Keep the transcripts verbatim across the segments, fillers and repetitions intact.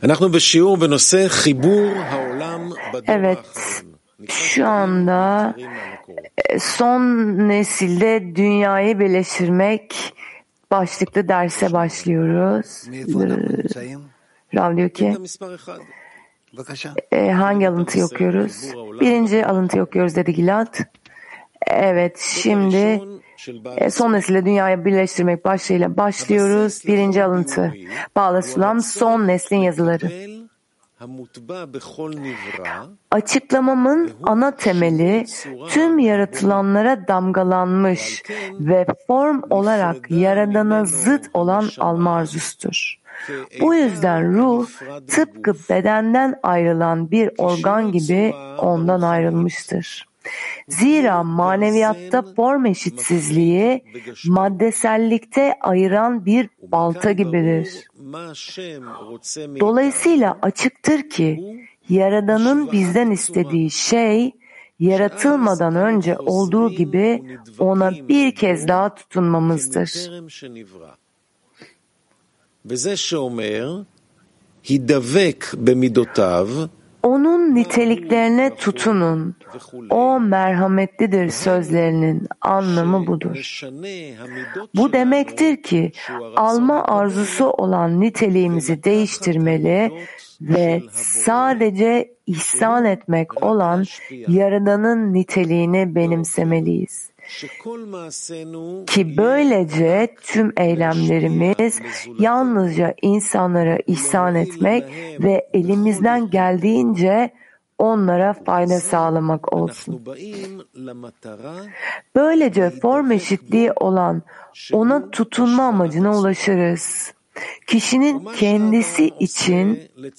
Evet, şu anda son nesilde dünyayı birleştirmek başlıklı derse başlıyoruz. Rav diyor ki, e, hangi alıntıyı okuyoruz? Birinci alıntıyı okuyoruz dedi Gilad. Evet, şimdi e, son nesilde dünyayı birleştirmek başlığıyla başlıyoruz. Birinci alıntı. Bağla Sulam, son neslin yazıları. Açıklamamın ana temeli tüm yaratılanlara damgalanmış ve form olarak Yaradan'a zıt olan alma arzusudur. Bu yüzden ruh tıpkı bedenden ayrılan bir organ gibi ondan ayrılmıştır. Zira maneviyatta form eşitsizliği maddesellikte ayıran bir balta gibidir. Dolayısıyla açıktır ki Yaradan'ın bizden istediği şey yaratılmadan önce olduğu gibi ona bir kez daha tutunmamızdır. Onun niteliklerine tutunun. O merhametlidir sözlerinin anlamı budur. Bu demektir ki alma arzusu olan niteliğimizi değiştirmeli ve sadece ihsan etmek olan Yaradan'ın niteliğini benimsemeliyiz. Ki böylece tüm eylemlerimiz yalnızca insanlara ihsan etmek ve elimizden geldiğince onlara fayda sağlamak olsun. Böylece form eşitliği olan ona tutunma amacına ulaşırız. Kişinin kendisi için,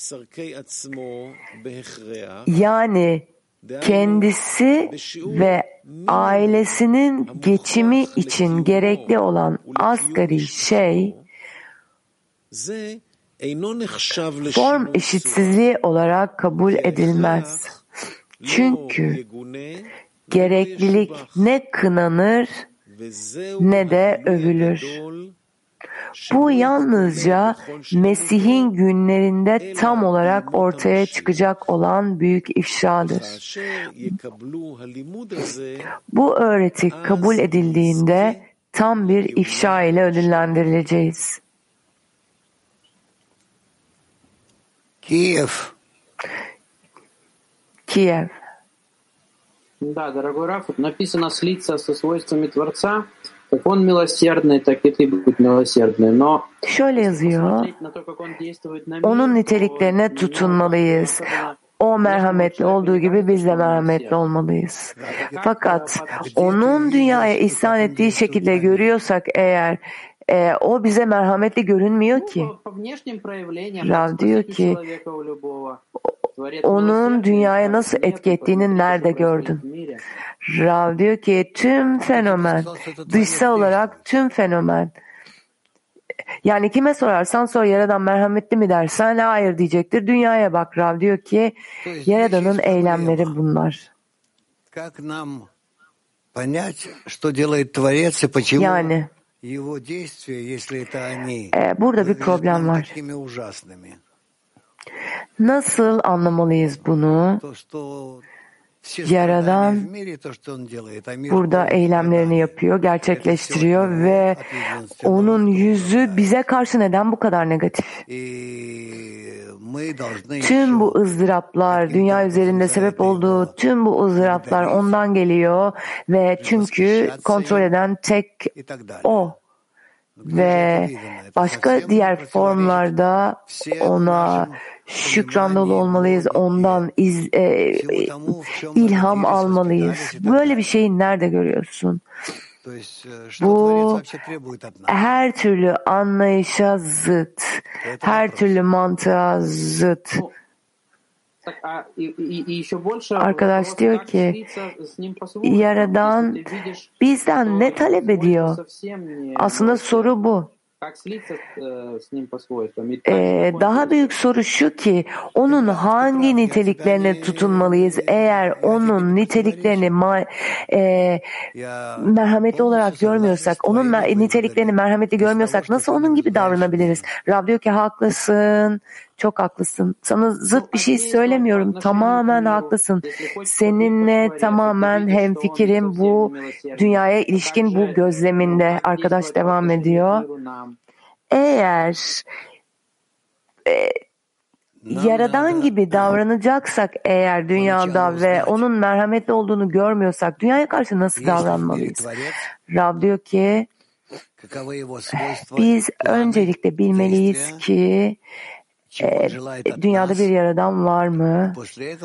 yani kendisi ve ailesinin geçimi için gerekli olan asgari şey, form eşitsizliği olarak kabul edilmez. Çünkü gereklilik ne kınanır ne de övülür. Bu yalnızca Mesih'in günlerinde tam olarak ortaya çıkacak olan büyük ifşadır. Bu öğreti kabul edildiğinde tam bir ifşa ile ödüllendirileceğiz. Kiev. Kiev. Да, дорогой Раф, написано слиться со свойствами Творца. Как он милосердный, так и ты будь милосердный. Но şöyle yazıyor, onun niteliklerine tutunmalıyız. O merhametli olduğu gibi biz de merhametli olmalıyız. Fakat onun dünyaya ihsan ettiği şekilde görüyorsak eğer, e, o bize merhametli görünmüyor ki. Rav diyor ki, onun dünyaya nasıl etki ettiğini nerede gördün? Rav diyor ki tüm fenomen, dışsal olarak tüm fenomen. Yani kime sorarsan sor, Yaradan merhametli mi dersen hayır diyecektir. Dünyaya bak. Rav diyor ki Yaradan'ın eylemleri bunlar. Yani e, burada bir problem var. Nasıl anlamalıyız bunu? Yaradan burada eylemlerini yapıyor, gerçekleştiriyor ve onun yüzü bize karşı neden bu kadar negatif? Tüm bu ızdıraplar, dünya üzerinde sebep olduğu tüm bu ızdıraplar ondan geliyor ve çünkü kontrol eden tek o. Ve başka diğer formlarda ona şükrandalı olmalıyız, ondan iz, e, ilham almalıyız. Böyle bir şeyi nerede görüyorsun? Bu her türlü anlayışa zıt, her türlü mantığa zıt. Arkadaş diyor ki Yaradan bizden ne talep ediyor? Aslında soru bu. Ee, daha büyük soru şu ki onun hangi niteliklerine tutunmalıyız? Eğer onun niteliklerini ma- e, merhametli olarak görmüyorsak, onun niteliklerini merhametli görmüyorsak nasıl onun gibi davranabiliriz? Rab diyor ki haklısın. çok haklısın. Sana zıt bir şey söylemiyorum. Tamamen haklısın. Seninle tamamen hemfikirim bu dünyaya ilişkin bu gözleminde. Arkadaş devam ediyor. Eğer e, Yaradan gibi davranacaksak eğer dünyada ve onun merhametli olduğunu görmüyorsak dünyaya karşı nasıl davranmalıyız? Rav diyor ki biz öncelikle bilmeliyiz ki e, dünyada bir Yaradan var mı?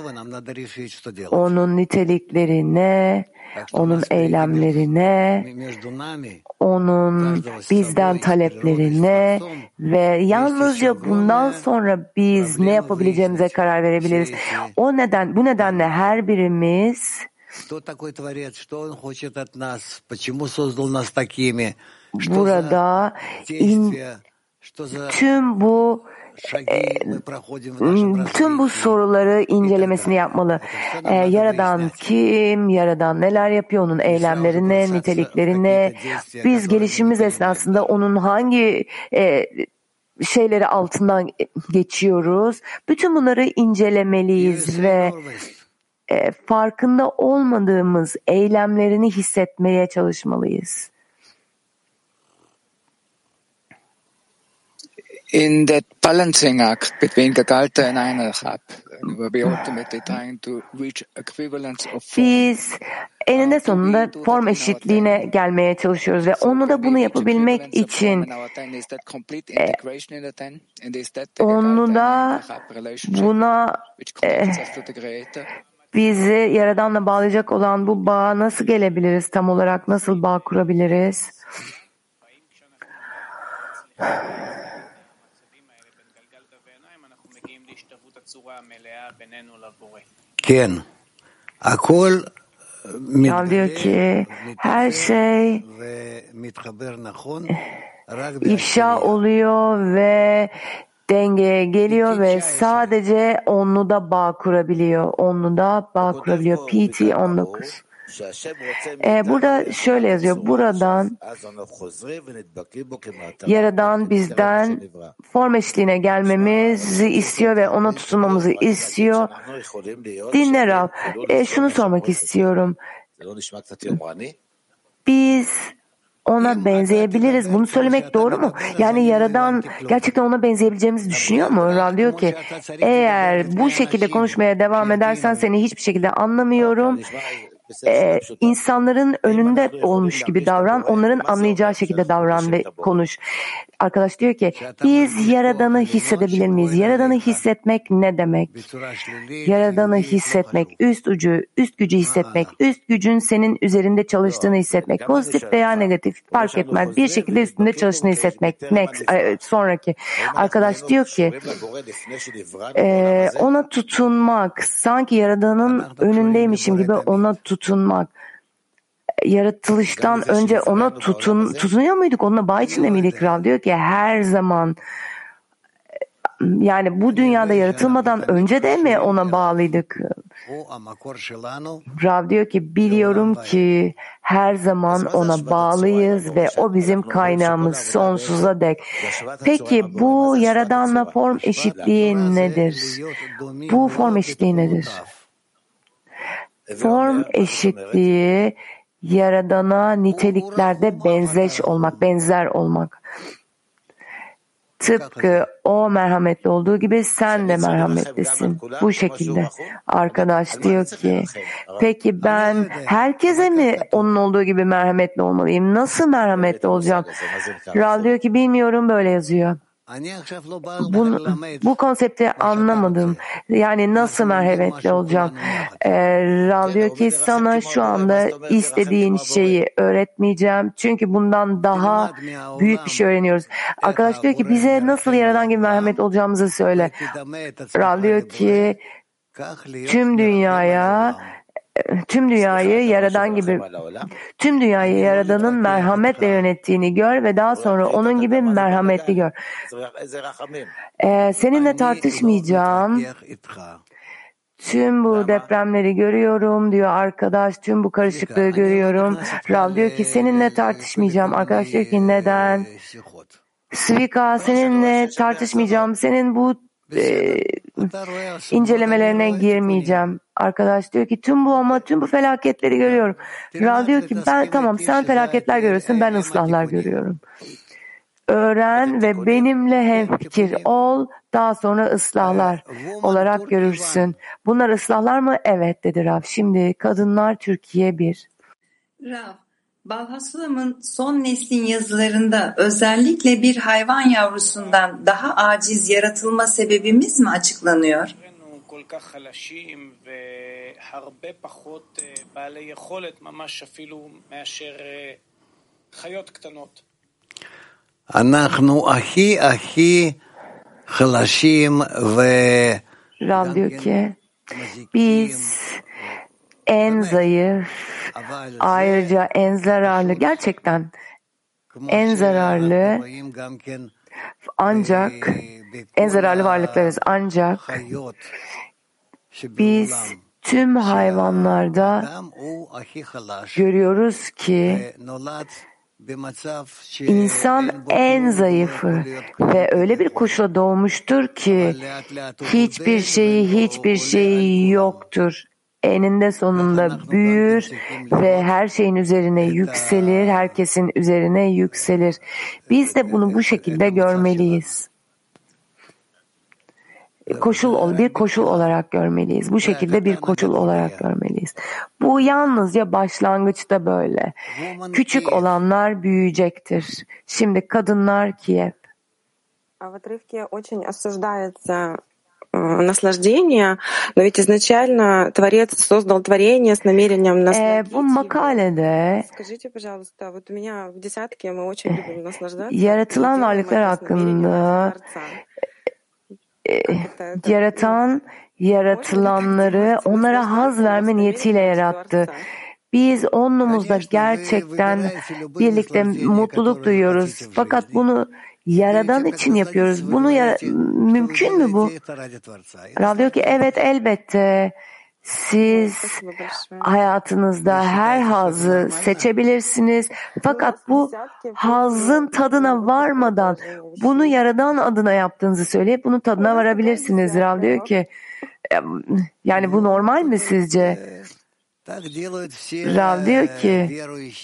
Onun niteliklerine, onun eylemlerine, onun bizden taleplerine ve yalnızca bundan sonra biz ne yapabileceğimize karar verebiliriz. O neden, bu nedenle her birimiz burada in, tüm bu tüm bu soruları incelemesini yapmalı. Ee, Yaradan kim? Yaradan neler yapıyor? Onun eylemlerine, niteliklerine. Biz gelişimimiz esnasında onun hangi e, şeyleri altından geçiyoruz? Bütün bunları incelemeliyiz ve e, farkında olmadığımız eylemlerini hissetmeye çalışmalıyız. In that balancing act between Gegalta and Einheit, we ultimately trying to reach equivalence of form. Biz eninde sonunda form eşitliğine gelmeye çalışıyoruz ve onu da bunu yapabilmek için e, onu da buna e, bizi Yaradan'la bağlayacak olan bu bağa nasıl gelebiliriz? Tam olarak nasıl bağ kurabiliriz? Rav diyor ki her şey ifşa oluyor ve dengeye geliyor ve sadece onlu da bağ kurabiliyor. Onlu da bağ kurabiliyor. P T on dokuz. Ee, burada şöyle yazıyor. Buradan Yaradan bizden form eşliğine gelmemizi istiyor ve ona tutunmamızı istiyor. Dinle Rav. Ee, şunu sormak istiyorum. Biz ona benzeyebiliriz. Bunu söylemek doğru mu? Yani Yaradan gerçekten ona benzeyebileceğimizi düşünüyor mu? Rav diyor ki eğer bu şekilde konuşmaya devam edersen seni hiçbir şekilde anlamıyorum. Ee, insanların önünde olmuş gibi davran, onların anlayacağı şekilde davran ve konuş. Arkadaş diyor ki biz Yaradan'ı hissedebilir miyiz? Yaradan'ı hissetmek ne demek? Yaradan'ı hissetmek, üst ucu, üst gücü hissetmek, üst gücün senin üzerinde çalıştığını hissetmek, pozitif veya negatif fark etmez. Bir şekilde üstünde çalıştığını hissetmek. Next, sonraki. Arkadaş diyor ki e, ona tutunmak, sanki Yaradan'ın önündeymişim gibi ona tutunmak. Yaratılıştan önce ona tutun, tutunuyor muyduk? Onunla bağ içinde miydik? Rav diyor ki her zaman, yani bu dünyada yaratılmadan önce de mi ona bağlıydık? Rav diyor ki biliyorum ki her zaman ona bağlıyız ve o bizim kaynağımız sonsuza dek. Peki bu Yaradan'la form eşitliği nedir? Bu form eşitliği nedir? Form eşitliği Yaradan'a niteliklerde benzeş olmak, benzer olmak. Tıpkı o merhametli olduğu gibi sen de merhametlisin. Bu şekilde. Arkadaş diyor ki, peki ben herkese mi onun olduğu gibi merhametli olmalıyım? Nasıl merhametli olacağım? Rav diyor ki bilmiyorum, böyle yazıyor. Bu, bu konsepti anlamadım. Yani nasıl merhametli olacağım? Ee, Rav diyor ki sana şu anda istediğin şeyi öğretmeyeceğim. Çünkü bundan daha büyük bir şey öğreniyoruz. Arkadaş diyor ki bize nasıl Yaradan gibi merhametli olacağımızı söyle. Rav diyor ki tüm dünyaya Tüm dünyayı Yaradan gibi, tüm dünyayı Yaradan'ın merhametle yönettiğini gör ve daha sonra onun gibi merhametli gör. Ee, seninle tartışmayacağım. Tüm bu depremleri görüyorum diyor arkadaş. Tüm bu karışıklığı görüyorum. Rav diyor ki seninle tartışmayacağım. Arkadaş diyor ki neden? Svika, seninle tartışmayacağım. Senin bu e, incelemelerine girmeyeceğim. Arkadaş diyor ki tüm bu ama tüm bu felaketleri görüyorum. Rav diyor ki ben tamam sen felaketler görüyorsun ben ıslahlar görüyorum. Öğren ve benimle hemfikir ol, daha sonra ıslahlar olarak görürsün. Bunlar ıslahlar mı? Evet dedi Rav. Şimdi kadınlar Türkiye bir. Rav, Balhasulam'ın son neslin yazılarında özellikle bir hayvan yavrusundan daha aciz yaratılma sebebimiz mi açıklanıyor? Rav diyor ki biz en zayıf, ayrıca en zararlı, gerçekten en zararlı ancak en zararlı varlıklarız. Ancak biz tüm hayvanlarda görüyoruz ki İnsan en zayıfı ve öyle bir koşula doğmuştur ki hiçbir şeyi hiçbir şeyi yoktur. Eninde sonunda büyür ve her şeyin üzerine yükselir, herkesin üzerine yükselir. Biz de bunu bu şekilde görmeliyiz. Koşul bir koşul olarak görmeliyiz. Bu şekilde bir koşul olarak görmeliyiz. Bu yalnızca başlangıçta böyle. Küçük olanlar büyüyecektir. Şimdi kadınlar Kiev. В отрывке очень осуждается наслаждение, но ведь изначально Творец создал творение с намерением насладить. Bu makalede Скажите, пожалуйста, вот у меня в десятке мы очень любим наслаждаться. Yaratılan varlıklar hakkında yaratan yaratılanları onlara haz verme niyetiyle yarattı. Biz onumuzda gerçekten birlikte mutluluk duyuyoruz. Fakat bunu Yaradan için yapıyoruz. Bunu ya, mümkün mü bu? Rav diyor ki evet elbette. Siz hayatınızda her hazzı seçebilirsiniz. Fakat bu hazzın tadına varmadan bunu Yaradan adına yaptığınızı söyleyip bunun tadına varabilirsiniz. Rav diyor ki yani bu normal mi sizce? Rav diyor ki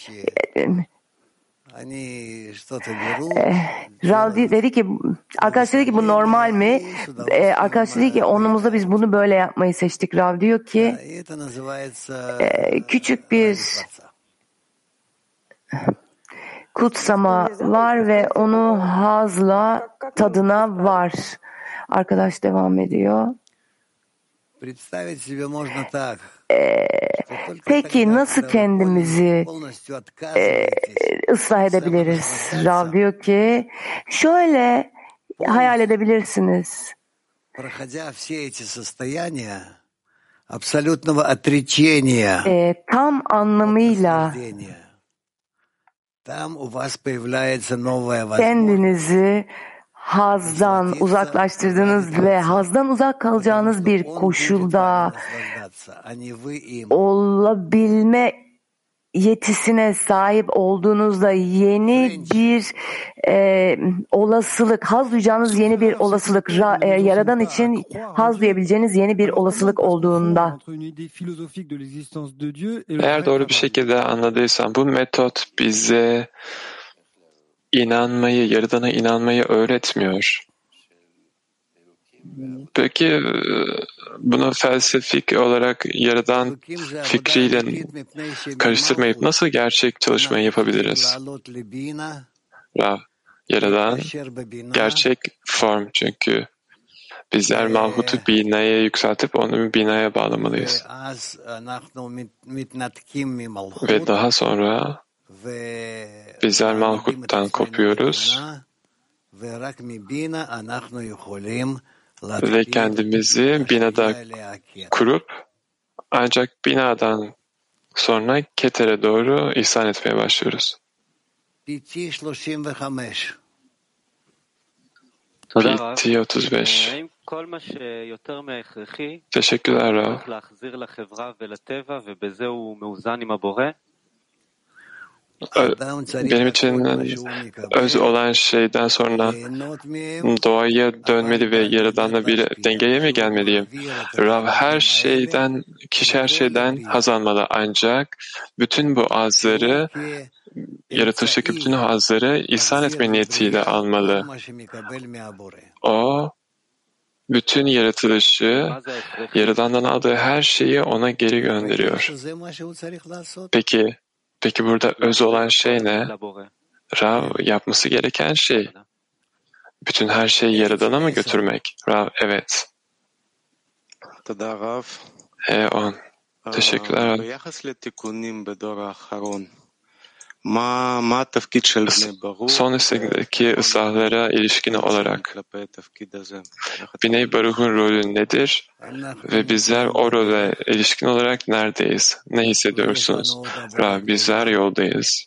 Rav dedi ki arkadaş dedi ki bu normal mi? Ee, arkadaş dedi ki onumuzda biz bunu böyle yapmayı seçtik. Rav diyor ki e, küçük bir kutsama var ve onu hazla tadına var. Arkadaş devam ediyor. Ee, peki nasıl kendimizi e, ıslah edebiliriz? Rav diyor ki şöyle hayal edebilirsiniz. E, tam anlamıyla kendinizi hazdan uzaklaştırdığınız ve hazdan uzak kalacağınız bir koşulda olabilme yetisine sahip olduğunuzda yeni bir e, olasılık, haz duyacağınız yeni bir olasılık, ra, e, Yaradan için haz duyabileceğiniz yeni bir olasılık olduğunda. Eğer doğru bir şekilde anladıysam bu metot bize inanmayı, Yaradan'a inanmayı öğretmiyor. Peki bunu felsefik olarak Yaradan fikriyle karıştırmayıp nasıl gerçek çalışmayı yapabiliriz? Rav, Yaradan gerçek form çünkü bizler Malhut-u Bina'ya yükseltip onu Bina'ya bağlamalıyız. Ve daha sonra bizler Malhut'tan kopuyoruz ve kendimizi Bina'da kurup ancak Bina'dan sonra Keter'e doğru ihsan etmeye başlıyoruz. P T otuz beş. Teşekkürler Rav. benim için öz olan şeyden sonra doğaya dönmeli ve Yaradan'la bir dengeye mi gelmeliyim? Rav, her şeyden, kişi her şeyden haz almalı, ancak bütün bu hazları, yaratılıştaki bütün hazları ihsan etme niyetiyle almalı. O, bütün yaratılışı, Yaradan'dan aldığı her şeyi ona geri gönderiyor. Peki, peki burada öz olan şey ne? Rav, yapması gereken şey, bütün her şeyi Yaradan'a mı götürmek? Rav, evet. E on. Teşekkürler Rav. Son nesildeki ıslahlara ilişkin olarak Biney Baruch'un rolü nedir ve bizler o role ilişkin olarak neredeyiz? Ne hissediyorsunuz? Rav, bizler yoldayız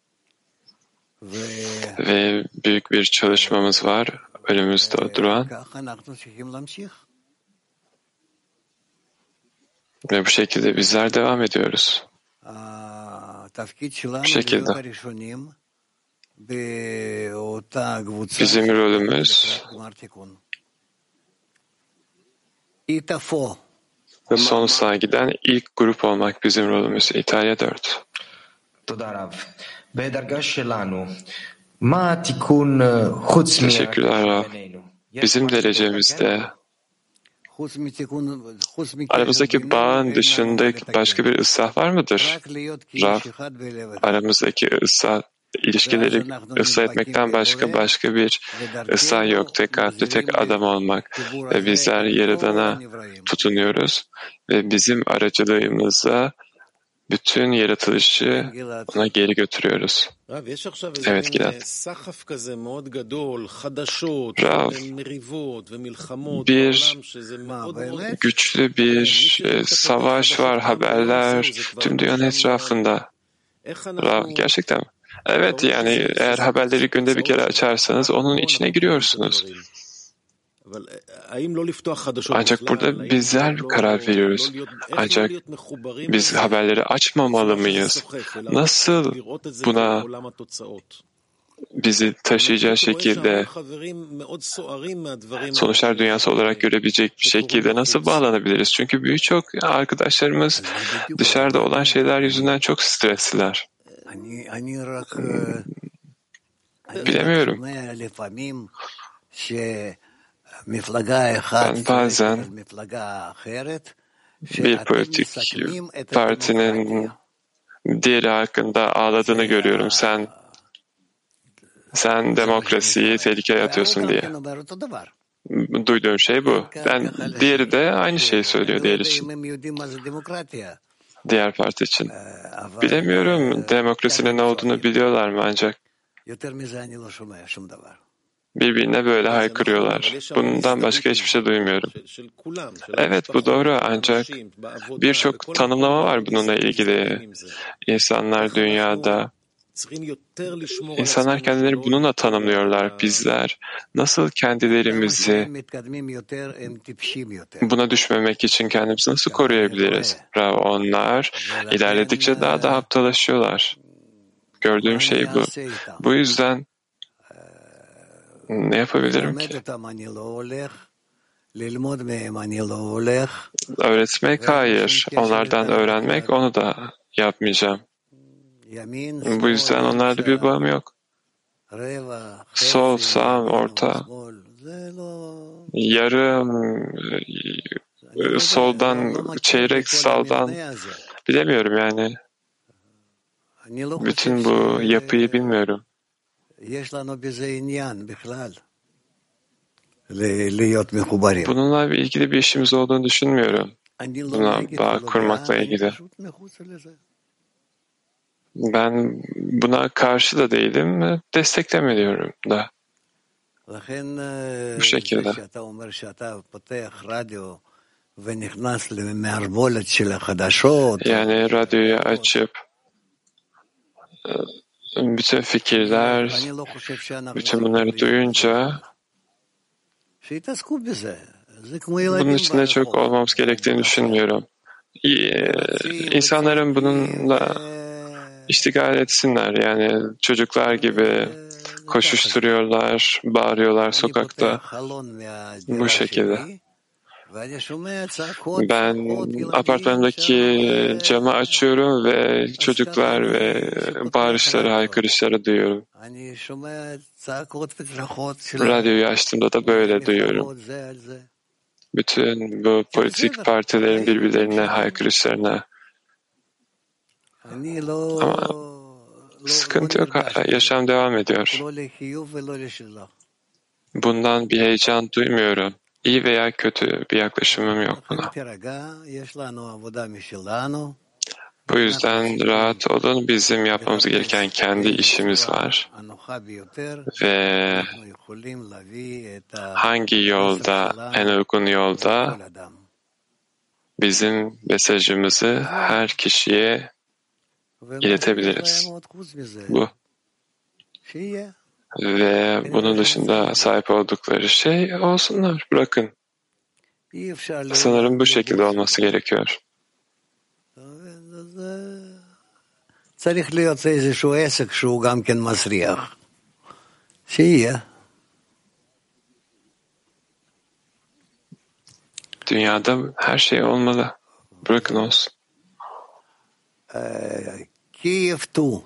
ve büyük bir çalışmamız var önümüzde duran ve bu şekilde bizler devam ediyoruz. Bu şekilde. Bizim rolümüz son ıslaha giden ilk grup olmak bizim rolümüz. İtalya dört. Teşekkürler Rav. Bizim derecemizde aramızdaki bağın dışında başka bir ıslah var mıdır? Rav, aramızdaki ıslah, ilişkileri ıslah etmekten başka başka bir ıslah yok. Tek kalpli, tek adam olmak. Ve bizler Yaradan'a tutunuyoruz ve bizim aracılığımızla bütün yaratılışı ona geri götürüyoruz. Evet Gilad. Rav, bir güçlü bir e, savaş var, haberler tüm dünyanın etrafında. Rav, gerçekten mi? Evet, yani eğer haberleri günde bir kere açarsanız onun içine giriyorsunuz. Ancak burada bizler karar veriyoruz. Ancak biz haberleri açmamalı mıyız? Nasıl buna bizi taşıyacak şekilde sonuçlar dünyası olarak görebilecek bir şekilde nasıl bağlanabiliriz? Çünkü birçok arkadaşlarımız dışarıda olan şeyler yüzünden çok stresliler. Bilemiyorum. Ben bazen bir politik partinin diğeri hakkında ağladığını görüyorum. Sen sen demokrasiyi tehlikeye atıyorsun diye. Duyduğum şey bu. Ben, diğeri de aynı şeyi söylüyor diğer için. Diğer parti için. Bilemiyorum demokrasinin ne olduğunu biliyorlar mı ancak birbirine böyle haykırıyorlar. Bundan başka hiçbir şey duymuyorum. Evet, bu doğru, ancak birçok tanımlama var bununla ilgili. İnsanlar dünyada, insanlar kendilerini bununla tanımlıyorlar. Bizler nasıl kendilerimizi buna düşmemek için kendimizi nasıl koruyabiliriz? Onlar ilerledikçe daha da aptalaşıyorlar. Gördüğüm şey bu. Bu yüzden ne yapabilirim ki? Öğretmek hayır. Onlardan öğrenmek, onu da yapmayacağım. Bu yüzden onlarla bir bağım yok. Sol, sağ, orta, yarım, soldan, çeyrek sağdan, bilemiyorum yani. Bütün bu yapıyı bilmiyorum. Bununla ilgili bir işimiz olduğunu düşünmüyorum. Buna bağ kurmakla ilgili. Ben buna karşı da değilim, desteklemiyorum da. Bu şekilde. Yani radyoyu açıp bütün fikirler, bütün bunları duyunca bunun içinde çok olmamız gerektiğini düşünmüyorum. İnsanların bununla iştigal etsinler. Yani çocuklar gibi koşuşturuyorlar, bağırıyorlar sokakta. Bu şekilde. Ben apartmandaki camı açıyorum ve çocuklar ve bağırışları, haykırışları duyuyorum. Radyoyu açtığımda da böyle duyuyorum. Bütün bu politik partilerin birbirlerine haykırışlarına. Ama sıkıntı yok, hala yaşam devam ediyor. Bundan bir heyecan duymuyorum. İyi veya kötü bir yaklaşımım yok buna. Bu yüzden rahat olun. Bizim yapmamız gereken kendi işimiz var. Ve hangi yolda, en uygun yolda bizim mesajımızı her kişiye iletebiliriz. Bu. Ve bunun dışında sahip oldukları şey olsunlar, bırakın. Sanırım bu şekilde olması gerekiyor. Dünyada her şey olmalı. Bırakın olsun. Kiev iki.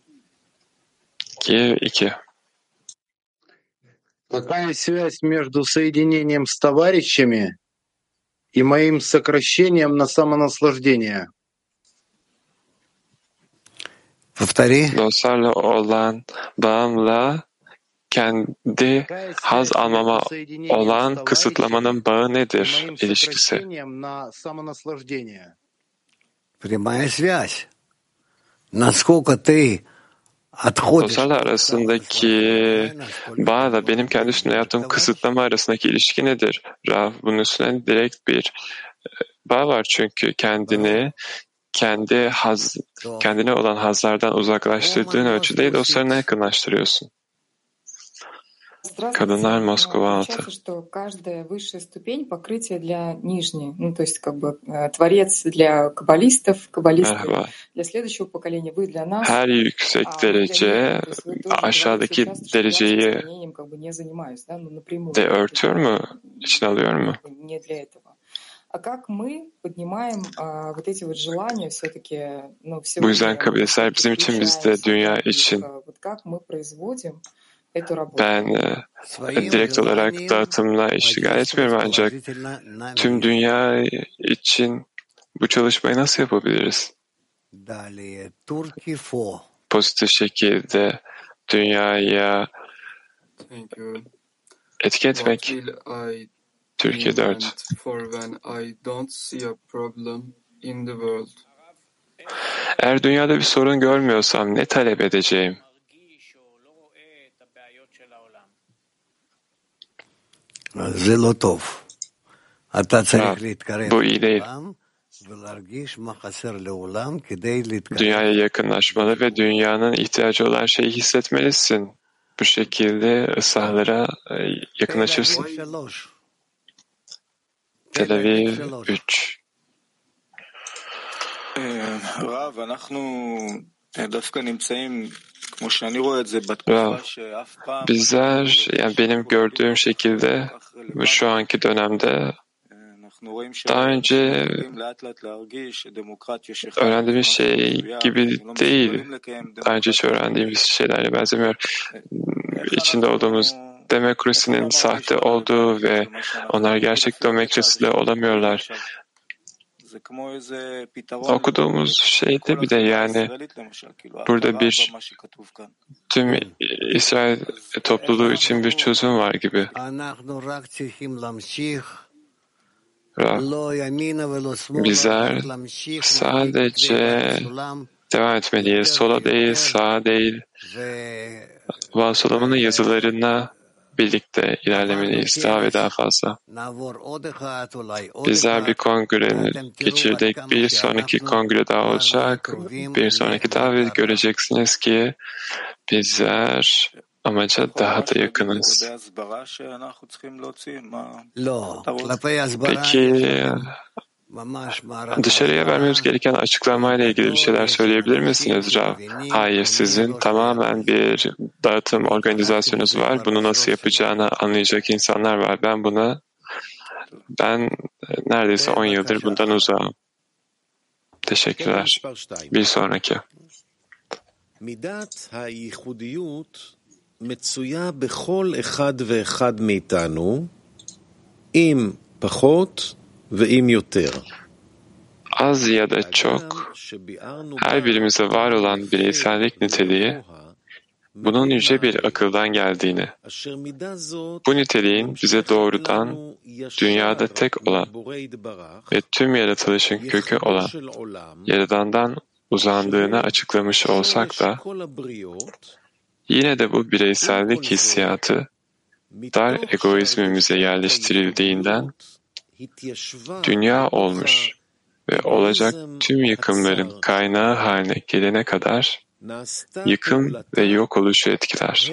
Kiev iki. Какая связь между соединением с товарищами и моим сокращением на самонаслаждение? Dostlarla olan bağımla kendi haz almama olan kısıtlamanın bağı nedir, ilişkisi? Прямая связь. Насколько ты Dostlarla arasındaki bağla benim kendi üstümde yaptığım kısıtlama arasındaki ilişki nedir? Rav, bunun üstüne direkt bir bağ var çünkü kendini kendi haz, kendine olan hazlardan uzaklaştırdığın ölçüde dostlarına yakınlaştırıyorsun. Kadınlar Moskova altı. Каждая высшая ступень покрытия для нижней, ну то есть как бы творец для каббалистов, каббалисты для следующего поколения, вы для нас. Her yüksek derece aşağıdaki dereceyi de örtüyor mu, içine alıyor mu? Не для этого. А как мы поднимаем вот эти вот желания все-таки, ну все. Bu yüzden kabileler bizim için, biz de dünya için. Вот как мы производим. Ben e, direkt olarak dağıtımla iştigal etmiyorum ancak tüm dünya için bu çalışmayı nasıl yapabiliriz? Pozitif şekilde dünyaya etki etmek. Türkiye dört. Eğer dünyada bir sorun görmüyorsam ne talep edeceğim? Bu iyi değil. Dünyaya yakınlaşmalı ve dünyanın ihtiyacı olan şeyi hissetmelisin. Bu şekilde ıslahlara yakınlaşırsın. Tel Aviv üç. Rav, אנחנו דווקא נמצאים Bizler, yani benim gördüğüm şekilde şu anki dönemde daha önce öğrendiğimiz şey gibi değil. Daha önce hiç öğrendiğimiz şeylerle benzemiyor. İçinde olduğumuz demokrasinin sahte olduğu ve onlar gerçek demokraside olamıyorlar. Okuduğumuz şeyde bir de yani burada bir tüm İsrail topluluğu için bir çözüm var gibi. Bizler sadece devam etmeliyiz. Sola değil, sağa değil. Vasılamının yazılarına birlikte ilerlemeliyiz daha ve daha fazla. Bizler bir kongre geçirdik. Bir sonraki kongre daha olacak. Bir sonraki daha ve göreceksiniz ki bizler amaca daha da yakınız. Dışarıya vermemiz gereken açıklamayla ilgili bir şeyler söyleyebilir misiniz Rav? Hayır, sizin tamamen bir dağıtım organizasyonunuz var. Bunu nasıl yapacağını anlayacak insanlar var. Ben buna, ben neredeyse on yıldır bundan uzağım. Teşekkürler. Bir sonraki. מידת הייחודיות מצויה בכל אחד ואחד מאיתנו, אם פחות ואם יותר. Az ya da çok, her birimize var olan bireysellik niteliği, bunun yüce bir akıldan geldiğini, bu niteliğin bize doğrudan dünyada tek olan ve tüm yaratılışın kökü olan Yaradan'dan uzandığını açıklamış olsak da, yine de bu bireysellik hissiyatı dar egoizmimize yerleştirildiğinden dünya olmuş ve olacak tüm yıkımların kaynağı haline gelene kadar yıkım ve yok oluşu etkiler.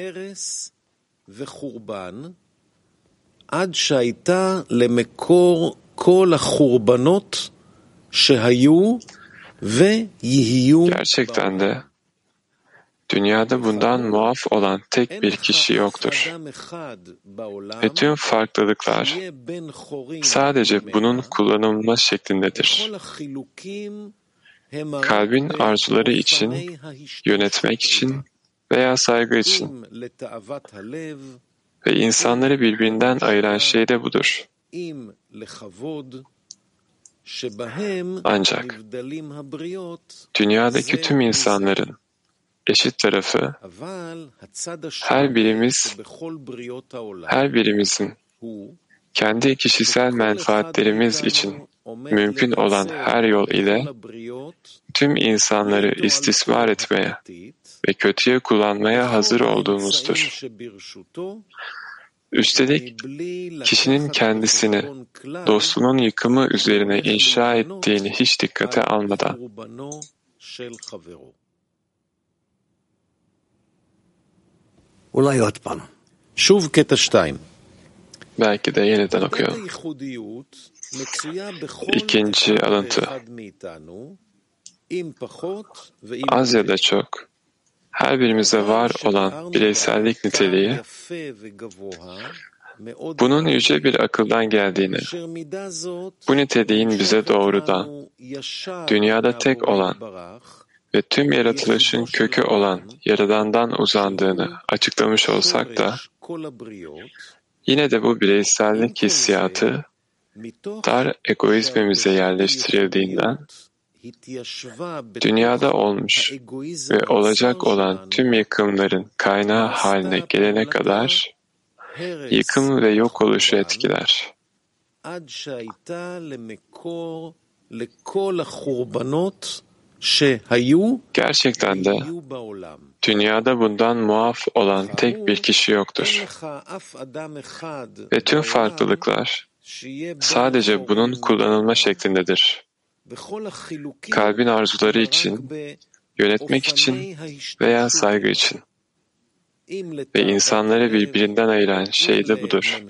עד שהייתה למקור כל החורבנות שהיו ויהיו. Gerçekten de dünyada bundan muaf olan tek bir kişi yoktur. Ve tüm farklılıklar sadece bunun kullanılma şeklindedir. Kalbin arzuları için, yönetmek için veya saygı için. Ve insanları birbirinden ayıran şey de budur. Ancak dünyadaki tüm insanların eşit tarafı, her birimiz, her birimizin kendi kişisel menfaatlerimiz için mümkün olan her yol ile tüm insanları istismar etmeye ve kötüye kullanmaya hazır olduğumuzdur. Üstelik kişinin kendisini dostunun yıkımı üzerine inşa ettiğini hiç dikkate almadan. שוב קטע שתיים. Belki de yeniden okuyalım. İkinci alıntı. Az ya da çok, her birimize var olan bireysellik niteliği, bunun yüce bir akıldan geldiğini, bu niteliğin bize doğrudan, dünyada tek olan ve tüm yaratılışın kökü olan Yaradan'dan uzandığını açıklamış olsak da, yine de bu bireysellik hissiyatı dar egoizmimize yerleştirildiğinden, dünyada olmuş ve olacak olan tüm yıkımların kaynağı haline gelene kadar yıkım ve yok oluşu etkiler. Gerçekten de dünyada bundan muaf olan tek bir kişi yoktur. Ve tüm farklılıklar sadece bunun kullanılma şeklindedir. Kalbin arzuları için, yönetmek için veya saygı için. Ve insanları birbirinden ayıran şey de budur.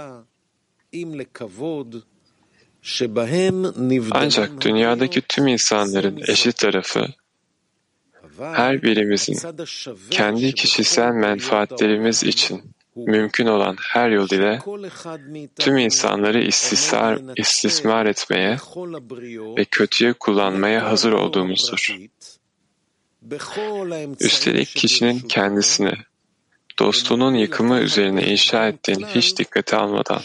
Ancak dünyadaki tüm insanların eşit tarafı, her birimizin kendi kişisel menfaatlerimiz için mümkün olan her yol ile tüm insanları istismar, istismar etmeye ve kötüye kullanmaya hazır olduğumuzdur. Üstelik kişinin kendisini dostunun yıkımı üzerine inşa ettiğini hiç dikkate almadan,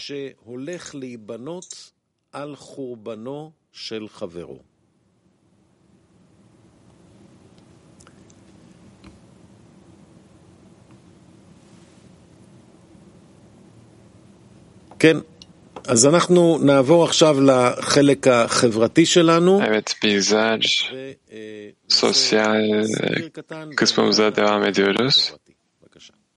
כן, אז אנחנו נעבור עכשיו לחלק החברתי שלנו. Evet, bizler sosyal kısmımıza devam ediyoruz.